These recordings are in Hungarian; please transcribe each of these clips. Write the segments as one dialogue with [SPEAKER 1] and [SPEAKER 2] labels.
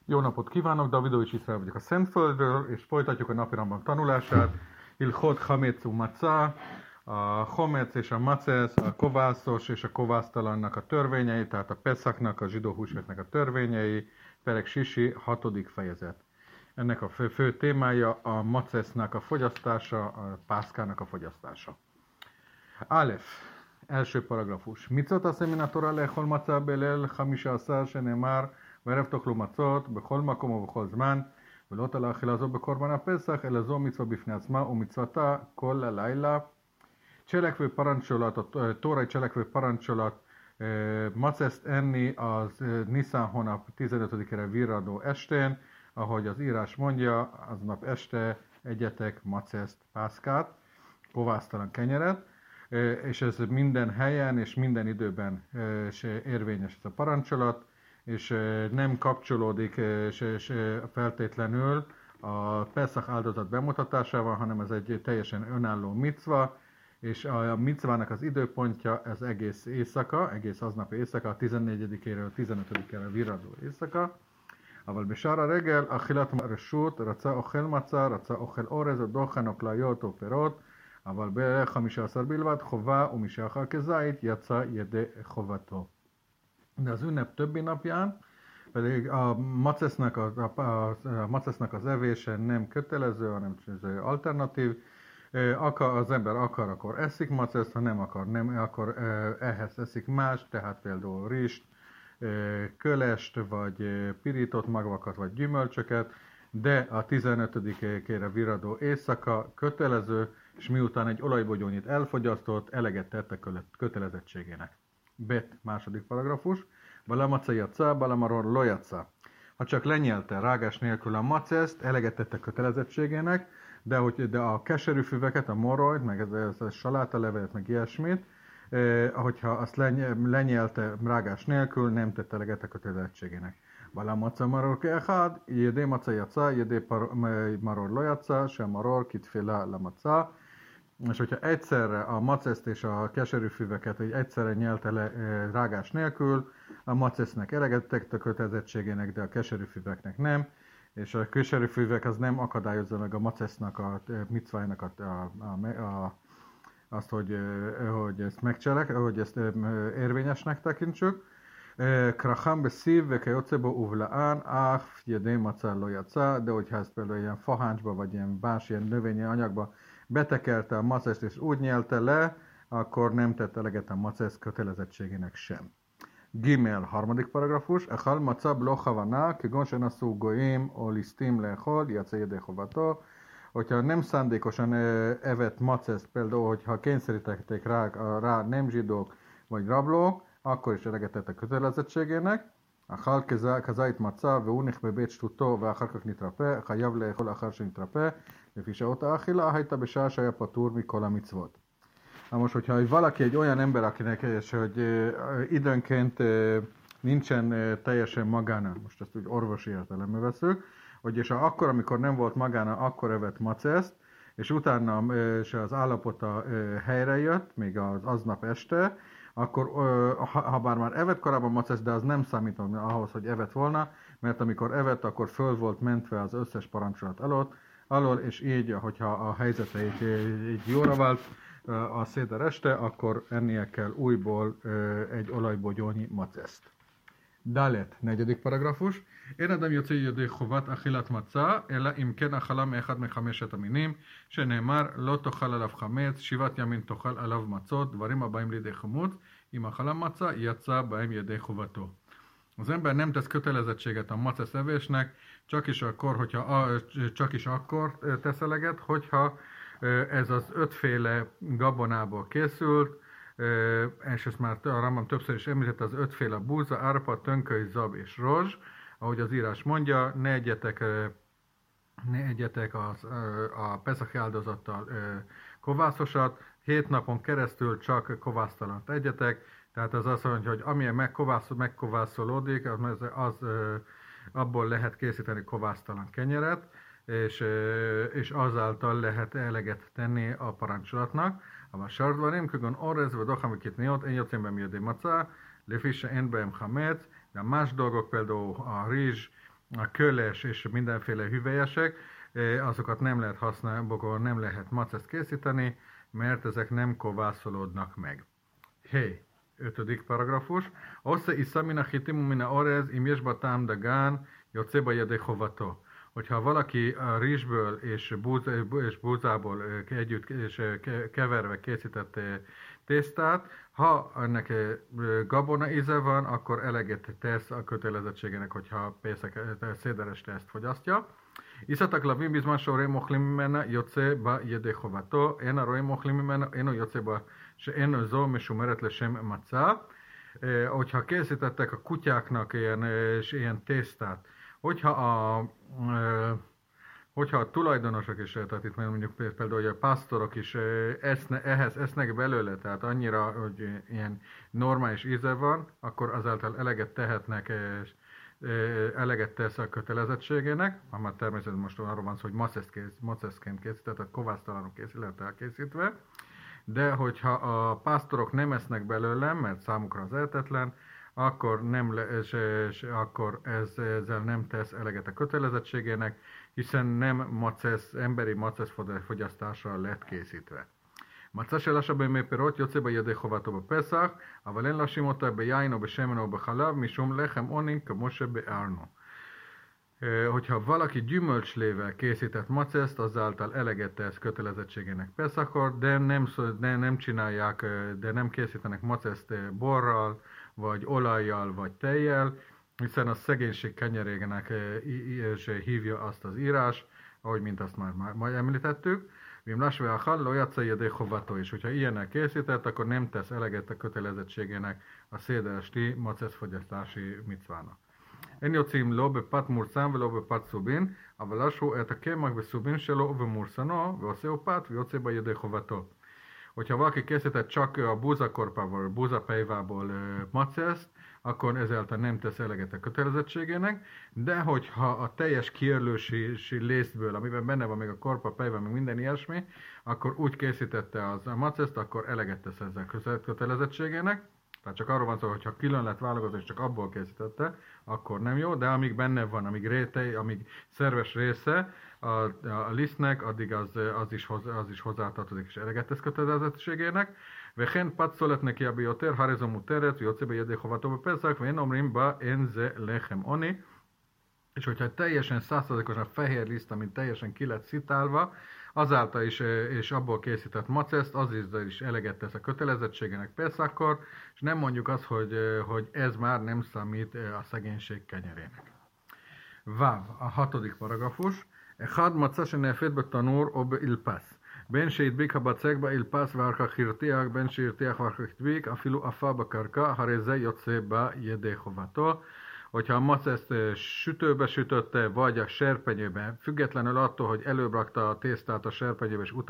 [SPEAKER 1] Jó napot kívánok, Davidovics Iszrael vagyok a Szentföldről, és folytatjuk a napirendben tanulását. Ilchot Hametzu Matzah, a Homec és a Macesz, a kovászos és a kovásztalannak a törvényei, tehát a Peszachnak, a zsidó húsvétnek a törvényei, Perek Sisi, 6. fejezet. Ennek a fő témája a Macesznek a fogyasztása, a pászkának a fogyasztása. Alef, első paragrafus. Mitzot aszem a Torah lechol matzah belel 15 shenemar וערב תאכלו מצות בכל מקום ובכל זמן ולא תלה אכילה זו בקורבן הפסח אלא זו מצווה בפני עצמה ומצוותה כל הלילה. Cselekvő parancsolat, a tórai cselekvő parancsolat, maceszt enni az Niszán hónap 15-ére virradó estén, ahogy az írás mondja, aznap este egyetek maceszt, pászkát, kovásztalan kenyeret, és ez minden helyen és minden időben érvényes ez a parancsolat, és nem kapcsolódik feltétlenül a Peszach áldozat bemutatásával, hanem ez egy teljesen önálló micva, és a micvának az időpontja ez egész éjszaka, egész aznapi éjszaka, a 14-éről 15-ére virradó éjszaka. אבל בשער הרגל אכילת רשות, רצה אוכל מצה, רצה אוכל אורז או דוחן או כליות או פירות, אבל ב-15 בלבד חובה ומי שאכל כזית יצא ידי חובתו. De az ünnep többi napján pedig a macesznek az evése nem kötelező, hanem alternatív. Az ember akar, akkor eszik maceszt, ha nem akar, akkor ehhez eszik más, tehát például rizst, kölest, vagy pirított magvakat, vagy gyümölcsöket, de a 15-ére virradó éjszaka kötelező, és miután egy olajbogyónyit elfogyasztott, eleget tett a kötelezettségének. Bet, második paragrafus. Balamaca jatsa, balamaror lojatsa. Ha csak lenyelte rágás nélkül a maceszt, eleget tett a kötelezettségének, de a keserű füveket, a morojt, meg ez a salátalevelet, meg ilyesmit, hogyha azt lenyelte rágás nélkül, nem tett eleget a kötelezettségének. Balamaca maror keechad, jedé maca jatsa, jedé maror lojatsa, sem maror kitféla lamaca. És hogyha egyszerre a maceszt és a keserűfüveket egyszerre nyelte le rágás nélkül, a macesznek eleget tett a kötelezettségének, de a keserűfüveknek nem, és a keserűfüvek az nem akadályozza meg a macesznak a micvájának azt, hogy ezt megcselek, hogy ezt érvényesnek tekintsük. Kracham beszív, vekajocebo uvlaán, áf, jedé maca lojatsa, de hogyha ezt például ilyen faháncsba, vagy ilyen más ilyen növényi anyagba betekelte a maceszt és úgy nyelte le, akkor nem tett eleget a macesz kötelezettségének sem. Gimel, harmadik paragrafus. Echal maca blo chavana, kegon senaszú goim, o lisztim lechol, jatsa jedé chovato. Hogyha nem szándékosan evett maceszt, például, hogyha kényszerítették rá nem zsidók vagy rablók, akkor is eleget tett a kötelezettségének. Echal kazait maca, veunich bebét stutó, veacharkak nitrape, chayav lechol achar senitrape, לפי שעות האכילה, הייתה בשעה שהיה פטור מכל המצוות. Na most, hogyha valaki egy olyan ember, akinek és hogy időnként nincsen teljesen magána, most ezt úgy orvosi értelembe veszük, hogy és akkor, amikor nem volt magána, akkor evett maceszt, és utána és az állapota helyre jött, még az aznap este, akkor, ha bár már evett korábban maceszt, de az nem számít ahhoz, hogy evett volna, mert amikor evett, akkor föl volt mentve az összes parancsolat alól, és így, hogyha a helyzete így jóra vált a széder este, akkor ennie kell újból egy olajbogyónyi maceszt. Dalet, negyedik paragrafus. אין אדם יוצא ידי חובת אכילת מצה, אלא אם כן אכלה מאחד מחמשת המינים, שנאמר לא תאכל עליו חמץ, 7 ימים תאכל עליו מצות, דברים הבאים לידי חמוץ, אם אכלה מצה, יצא בהם ידי חובתו. Az ember nem tesz kötelezettséget a macesz evésnek, csak is akkor tesz eleget, hogyha ez az 5 féle gabonából készült, és ezt már a Rambam többször is említette, az 5 féle búza, árpa, tönköly, zab és rozs, ahogy az írás mondja, ne egyetek a pesach áldozattal kovászosat, 7 napon keresztül csak kovásztalant egyetek, tehát az azt mondja, hogy amilyen megkovászolódik, abból lehet készíteni kovásztalan kenyeret, és azáltal lehet eleget tenni a parancsolatnak. A sardvarim, kögön orrez, vagy dohamikit niot, én jöttem be miért macá, lefisse én beem hamec, de más dolgok, például a rizs, a köles és mindenféle hüvelyesek, azokat nem lehet használni, nem lehet maceszt készíteni, mert ezek nem kovászolódnak meg. Hey, 5. paragrafus. Osze isza mina chitimu mina orez, im jesba tám dagán, jocéba jede chovato. Hogyha valaki a rizsből és búzából együtt és keverve készített tésztát, ha ennek gabona íze van, akkor eleget tesz a kötelezettségének, hogyha szédereste ezt fogyasztja. Iszatak lavim bizman soreim ochlim mimena yotze ba yede chovato, en a roim ochlim mimena, eno yotze ba שאין זו משומרת לשם מצה. Hogyha készítettek a kutyáknak ilyen tésztát, hogyha a tulajdonosok is, tehát itt mondjuk például hogy a pásztorok is ehhez esznek belőle, tehát annyira, hogy ilyen normális íze van, akkor azáltal eleget tehetnek, eleget tesz a kötelezettségének, már természetesen most arról van szó, hogy maceszként készített, tehát kovásztalanul lett elkészítve, de hogyha a pásztorok nem esznek belőle, mert számukra az ehetetlen, akkor, akkor ezzel nem tesz eleget a kötelezettségének, hiszen nem emberi macesz fogyasztásra lett készítve. מצה שלשה בימי פירות יוצא בידי חובתו בפסח, אבל אין להאשים אותה ביין או בשמן או בחלב, משום לחם עוני כמו שבארנו. Hogyha valaki gyümölcslével készített maceszt, azáltal eleget tesz kötelezettségének Peszakor, de nem csinálják, de nem készítenek maceszt borral, vagy olajjal, vagy tejjel, hiszen a szegénység kenyerének hívja azt az írás, ahogy mint azt már említettük. Vim lasve achal lo játszai a déhovató, és hogyha ilyennel készített, akkor nem tesz eleget a kötelezettségének a széderesti maceszfogyasztási micvának. אין יוצאים לא בפת מורסם ולא בפת סובין, אבל אשרו את הקמח בסובין שלו ובמורסנו, ועושהו פת ויוצא בידי חובתו. Hogyha valaki készített csak a búzakorpával, búzapejvából maceszt, akkor ezáltal nem tesz eleget a kötelezettségének, de hogyha a teljes kiörlősi lészből, amiben benne van még a korpa, pejva, meg minden ilyesmi, akkor úgy készítette az a maceszt, akkor eleget tesz ezzel kötelezettségének. Tehát csak arról van szó, hogy ha külön lett válogatva és csak abból készítette, akkor nem jó, de amíg benne van, amíg rétej, amíg szerves része a lisztnek, addig az is hozzátartozik és eleget tesz kötelezettségének. וכן פת סולת נקייה ביותר, הרי זו מותרת ויוצא בידי חובתו בפסח, ואין אומרים בה אין זה לחם עוני. És hogyha teljesen 100%-osan fehér liszt, amit teljesen ki lett szitálva, azáltal is, és abból készített maceszt, az is eleget tesz a kötelezettségének Peszakkor, és nem mondjuk azt, hogy ez már nem számít a szegénység kenyerének. Váv, a 6. paragrafus. אחד מצה שנאפת בתנור או באלפס, בין שהדביק הבצק באלפס ואחר כך הרתיח, בין שהרתיח ואחר כך הדביק, אפילו עפה בקרקע, הרי זה יוצא בידי חובתו. Hogyha a maceszt sütőbe sütötte, vagy a serpenyőbe, függetlenül attól, hogy előbb rakta a tésztát a serpenyőbe, és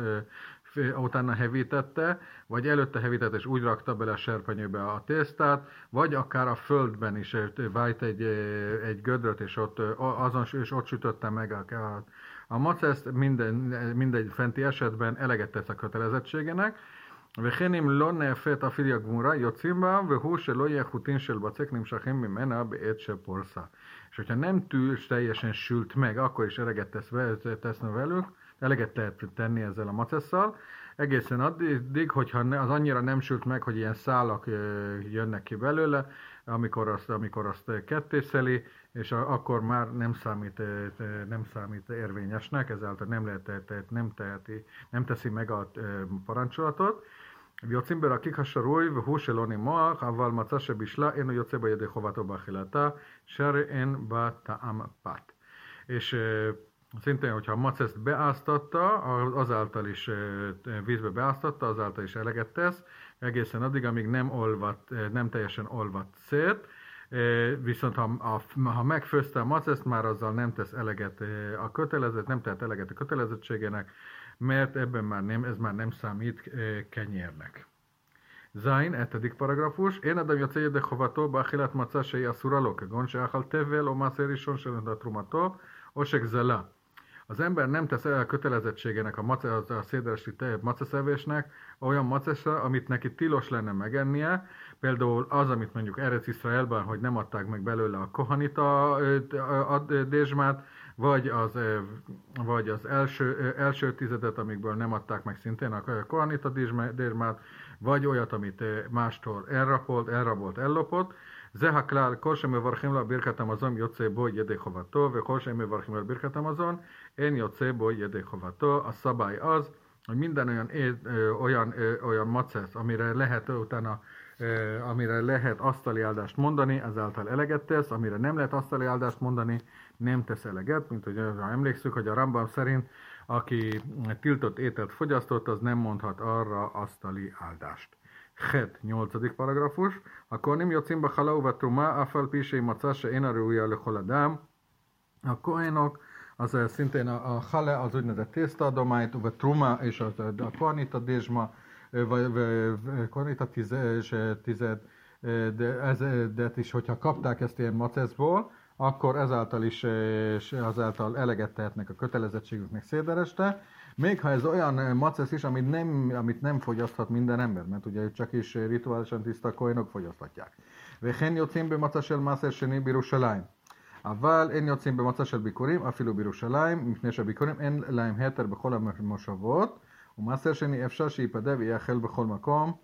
[SPEAKER 1] utána hevítette, vagy előtte hevítette, és úgy rakta bele a serpenyőbe a tésztát, vagy akár a földben is vájt egy gödröt, és ott sütötte meg a maceszt, mindegy fenti esetben eleget tesz a kötelezettségének, וכן אם לא נאפת אפילו הגמורה יוצאים בה, והוא שלא יהיה חוטין של בצק נמשכים ממנה בעת שפורסה. És hogyha nem teljesen sült meg, akkor is eleget teszne velük, eleget lehet tenni ezzel a macesszal, egészen addig, hogyha az annyira nem sült meg, hogy ilyen szálak jönnek ki belőle, amikor azt kettészeli, és akkor már nem számít érvényesnek, ezáltal nem teszi meg a parancsolatot. ויוצאים ברקיק השרוי והוא שלא נימוח, אבל מצה שבישלה אינו יוצא בידי חובתו באכילתה, שהרי אין בה טעם פת. És szintén, hogyha a maceszt beáztatta, azáltal is vízbe beáztatta, azáltal is eleget tesz, egészen addig, amíg nem teljesen olvadt szét, viszont ha megfőzte a maceszt, már azzal nem tesz eleget nem tehet eleget a kötelezettségének, mert ez már nem számít kenyérnek. Zain, 7. paragrafus. Én adam יוצא ידי חובתו באכילת מצה שהיא אסורה לו, כגון שאכל תבל או מעשה ראשון של תרומתו, או שגזלה. az ember nem tesz el kötelezettségének a széderesti maceszevésnek olyan maceszre, amit neki tilos lenne megennie, például az, amit mondjuk Erec Iszraelben, hogy nem adták meg belőle a kohanita dézsmát, vagy az első tizedet, amikből nem adták meg szintén a kohanita dézsmát, vagy olyat, amit mástól elrabolt, ellopott. זה הכלל, כל שמברכים לו ברכת המזון יוצא בו ידי חובתו, וכל שמברכים לו ברכת המזון אין יוצא בו ידי חובתו. A szabály az, hogy minden olyan macesz, amire lehet asztali áldást mondani, ezáltal eleget tesz, amire nem lehet asztali áldást mondani, nem tesz eleget, mint hogy emlékszünk, hogy a Rambam szerint, aki tiltott ételt fogyasztott, az nem mondhat arra asztali áldást. ח' 8. פרגרפוש, הכהנים יוצאים בחלה ובתרומה, אף על פי שימצא שאינה ראויה לכל אדם. הכהנok, az szintén a hale, az úgynevezett tésztaadományt, vagy truma és a kohanita dézsma, vagy kohanita tized, de is, hogyha kapták ezt ilyen maceszból, akkor azáltal eleget tehetnek a kötelezettségüknek szédereste. Még ha ez olyan macesz is, amit nem fogyaszthat minden ember, mert ugye csak is rituálisan tiszta kohénok fogyaszthatják. וכן יוצאים במצה של מעשר שני בירושלים. אבל אין יוצאים במצה של ביקורים, אפילו בירושלים, מפני שהביקורים אין להם היתר בכל המושבות, ומעשר שני אפשר שיפדה ויאכל בכל מקום.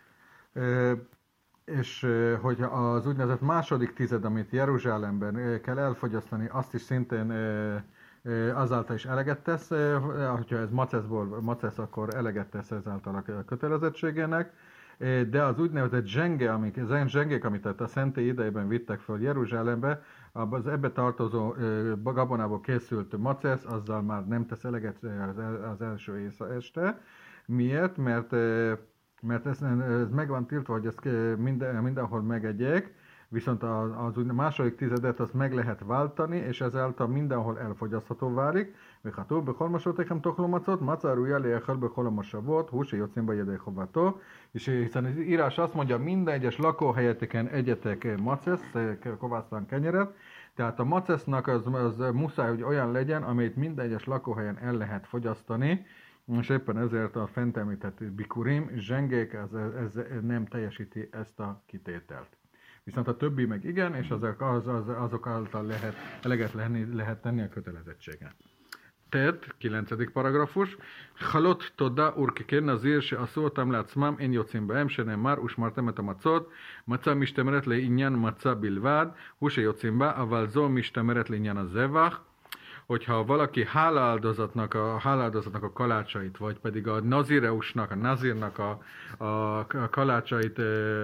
[SPEAKER 1] És hogy az úgynevezett második tized, amit Jeruzsálemben kell elfogyasztani, azt is szintén azáltal is eleget tesz, hogyha ez macesz, akkor eleget tesz ezáltal a kötelezettségének, de az úgynevezett zsengék, amit a szentély idejében vittek föl Jeruzsálembe, az ebbe tartozó gabonából készült macesz, azzal már nem tesz eleget az első este. Miért? Mert ez meg van tiltva, hogy ezt mindenhol megegyék, viszont az második tizedet azt meg lehet váltani, és ezáltal mindenhol elfogyasztható válik. וכתוב בכל מושבותיכם תאכלו מצות, מצה ראויה לאכול בכל המושבות, הוא שיוצאים בה ידי חובתו. És hiszen az írás azt mondja, minden egyes lakóhelyeteken egyetek macesz, kovásztalan kenyeret, tehát a macesznak az muszáj, hogy olyan legyen, amelyet minden egyes lakóhelyen el lehet fogyasztani, és éppen ezért a fent említett bikurim, zsengék, ez nem teljesíti ezt a kitételt. Viszont a többi meg igen, és azok által eleget lehet tenni a kötelezettségen. TED, 9. paragrafus, חלות תודה ורקקי נזיר שעשו אותם לעצמם אין יוצאים בהם, שנאמר ושמרתם את המצות, מצה משתמרת לעניין מצה בלבד, הוא שיוצאים בה, אבל זו משתמרת לעניין הזבח. Hogyha valaki hálaáldozatnak a kalácsait, vagy pedig a nazireusnak, a nazírnak a kalácsait,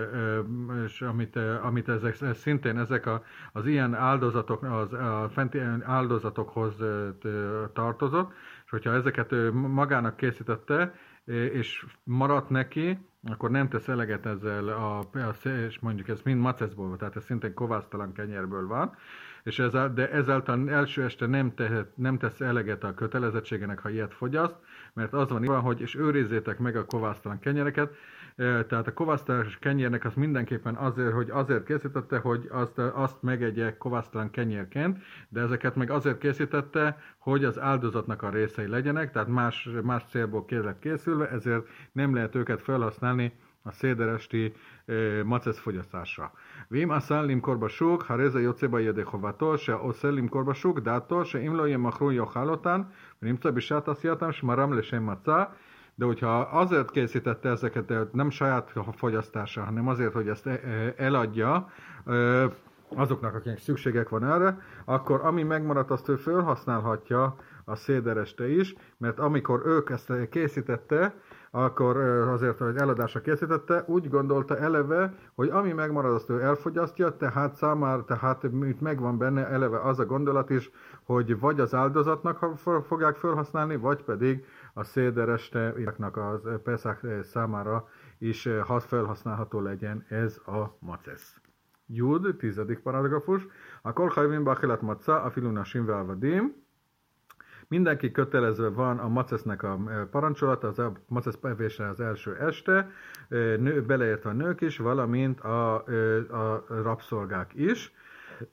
[SPEAKER 1] és amit ezek szintén az ilyen áldozatok, a fenti áldozatokhoz tartozott, és hogyha ezeket magának készítette, és maradt neki, akkor nem tesz eleget ezzel, és mondjuk ez mind maceszból, tehát ez szintén kovásztalan kenyerből van, de ezáltal első este nem tesz eleget a kötelezettségenek, ha ilyet fogyaszt, mert az van, hogy és őrizzétek meg a kovásztalan kenyereket, tehát a kovásztalan kenyérnek az mindenképpen azért készítette, hogy azt megegye kovásztalan kenyérként, de ezeket meg azért készítette, hogy az áldozatnak a részei legyenek, tehát más célból készülve, ezért nem lehet őket felhasználni a széderesti macesz fogyasztásra. ואם אסל למכור בשוק, הרי זה יוצא בידי חובתו, שעושה למכור בשוק דעתו, שאם לא ימכרו יאכל אותן, ונמצא בשעת עשייתם שמרם לשם מצה. De hogyha azért készítette ezeket, nem saját fogyasztása, hanem azért, hogy ezt eladja azoknak, akiknek szükségek van erre, akkor ami megmaradt, azt ő felhasználhatja a szédereste is, mert amikor ők ezt készítette, akkor azért, hogy eladásra készítette, úgy gondolta eleve, hogy ami megmarad, azt ő elfogyasztja, tehát itt megvan benne eleve az a gondolat is, hogy vagy az áldozatnak fogják felhasználni, vagy pedig a széderestenek az Peszach számára is felhasználható legyen ez a macesz. Jud, 10. paragrafus. Akkor hajvin báchilat maca, afilu nasim ve'avadim. Mindenki kötelezve van a macesznek a parancsolata, az a macesz evésre az első este, beleértve a nők is, valamint a rabszolgák is.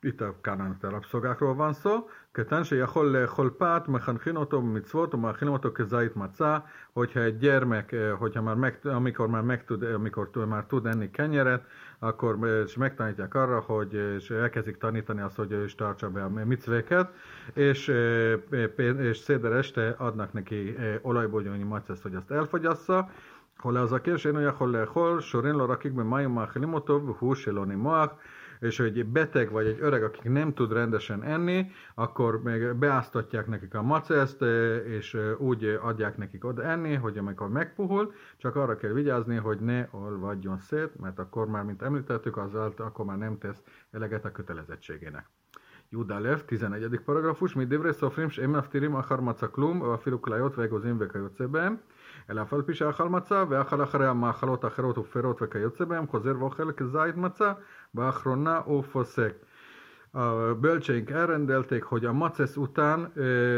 [SPEAKER 1] itt a kánaániti rabszolgákról van szó, keten שיכול לאכול פת, מחנכים אותו במצוות ומאכילים אותו כזית מצה, hogyha egy gyermek, hogyha amikor már tud enni kenyeret, akkor és megtanítják arra, hogy és elkezdik tanítani azt, hogy ő is tartsa be a micvéket, és széder este adnak neki olajbogyónyi maceszt, hogy azt elfogyassza, hol az a kérdés, én יכול לאכול, שורים לו רקיק במים ומאכילים אותו, והוא שלא נימוח, és hogy egy beteg vagy egy öreg, akik nem tud rendesen enni, akkor még beáztatják nekik a maceszt, és úgy adják nekik oda enni, hogy amikor megpuhul, csak arra kell vigyázni, hogy ne olvadjon szét, mert akkor már, mint említettük, akkor már nem tesz eleget a kötelezettségének. Judalev, 11. paragrafus, mi divrei szofrim, és emeftirim achar maca klum, a filuklajot, vegozim, vekajotze bהם, אלא אף על פי שאכל מצה ואכל אחריה מאכלות אחרות ופירות וכיוצא בהם, חוזר ואוכל כזית מצה, באחרונה הוא פוסק. A bölcseink elrendelték, hogy a macesz után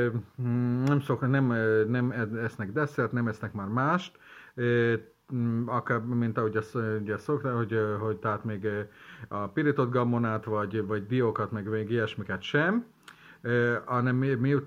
[SPEAKER 1] nem esznek desszert, nem esznek már mást, akár, mint ahogy ugye szokták, hogy tehát még a pirított gabonát, vagy diókat, meg még ilyesmiket sem, hanem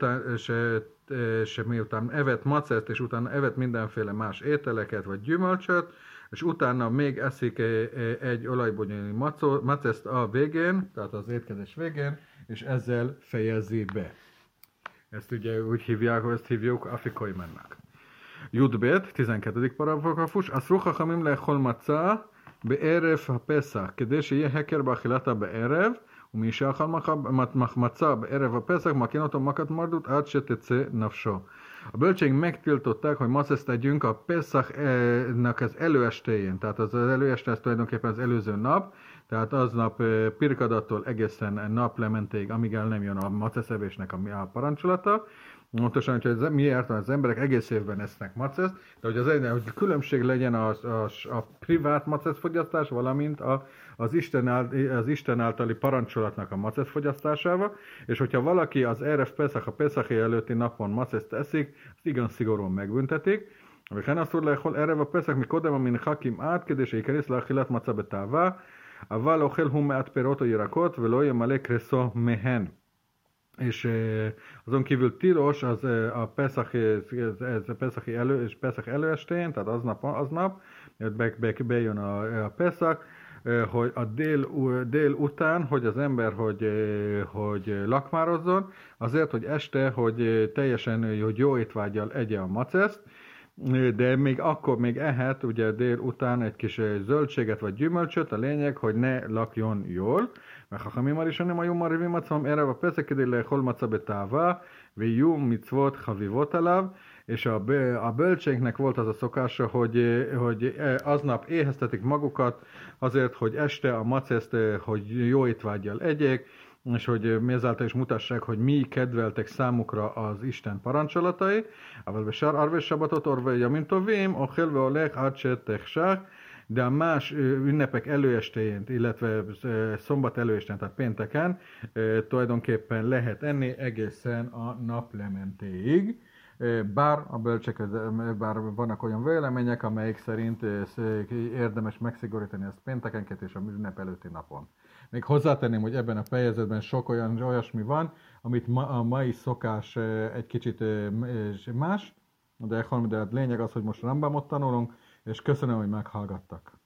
[SPEAKER 1] miután evett maceszt, és utána evett mindenféle más ételeket, vagy gyümölcsöt, és utána még eszik egy olajbogyónyi maceszt a végén, tehát az étkezés végén, és ezzel fejezi be. Ezt ugye úgy hívják, hogy ezt hívjuk afikoimennek. Judbet, 12. paragrafus, אסרו חכמים לאכול מצה בערב הפסח, כדי שיהיה הכר באכילתה בערב, ומי שאכל מצה בערב הפסח, מכין אותו מכת מרדות עד שתצא נפשו. A bölcseink megtiltották, hogy maceszt tegyünk a Pesachnak az előestéjén, tehát az előeste, ez tulajdonképpen az előző nap, tehát aznap pirkadattól egészen naplementéig, amíg el nem jön a maceszevésnek a parancsolata. Pontosan, hogy miért az emberek egész évben esznek maceszt, de hogy különbség legyen a privát macesz fogyasztás, valamint az Isten általi parancsolatnak a macesz fogyasztásával, és hogyha valaki az Erev Pesach, a Pesachi előtti napon maceszt eszik, azt igen szigorúan megbüntetik. וכן אסור לאכול ערב הפסח מקודם המנחה כמעט כדי שייכנס לאכילת מצה בתאווה, אבל אוכל הוא מעט פירות או ירקות ולא ימלא קרסו מהן. És azon kívül tilos az a Pesach előestén, tehát aznap bejön a Pesach, hogy a dél után, hogy az ember hogy lakmározzon, azért, hogy este, hogy teljesen hogy jó étvággyal egye a maceszt, de még akkor még ehet ugye dél után egy kis zöldséget vagy gyümölcsöt, a lényeg, hogy ne lakjon jól. וחכמים הראשונים היו מרעיבים עצמם ערב הפסח כדי לאכול מצה בתאווה, ויהיו מצוות חביבות עליו, és a bölcseinknek volt az a szokása, hogy aznap éheztetik magukat azért, hogy este a maceszt, hogy jó étvággyal egyék, és hogy ezáltal is mutassák, hogy mi kedveltek számukra az Isten parancsolatai. אבל בשאר ערבי שבתות ערבי ימים טובים, אוכל והולך עד שתחשך, de a más ünnepek előestéjén, illetve szombat előestén, tehát pénteken tulajdonképpen lehet enni egészen a naplementéig. Bár vannak olyan vélemények, amelyek szerint érdemes megszigorítani ezt péntekenként és a ünnep előtti napon. Még hozzátenném, hogy ebben a fejezetben sok olyasmi van, amit a mai szokás egy kicsit más, de a lényeg az, hogy most Rambamot tanulunk, és köszönöm, hogy meghallgattak.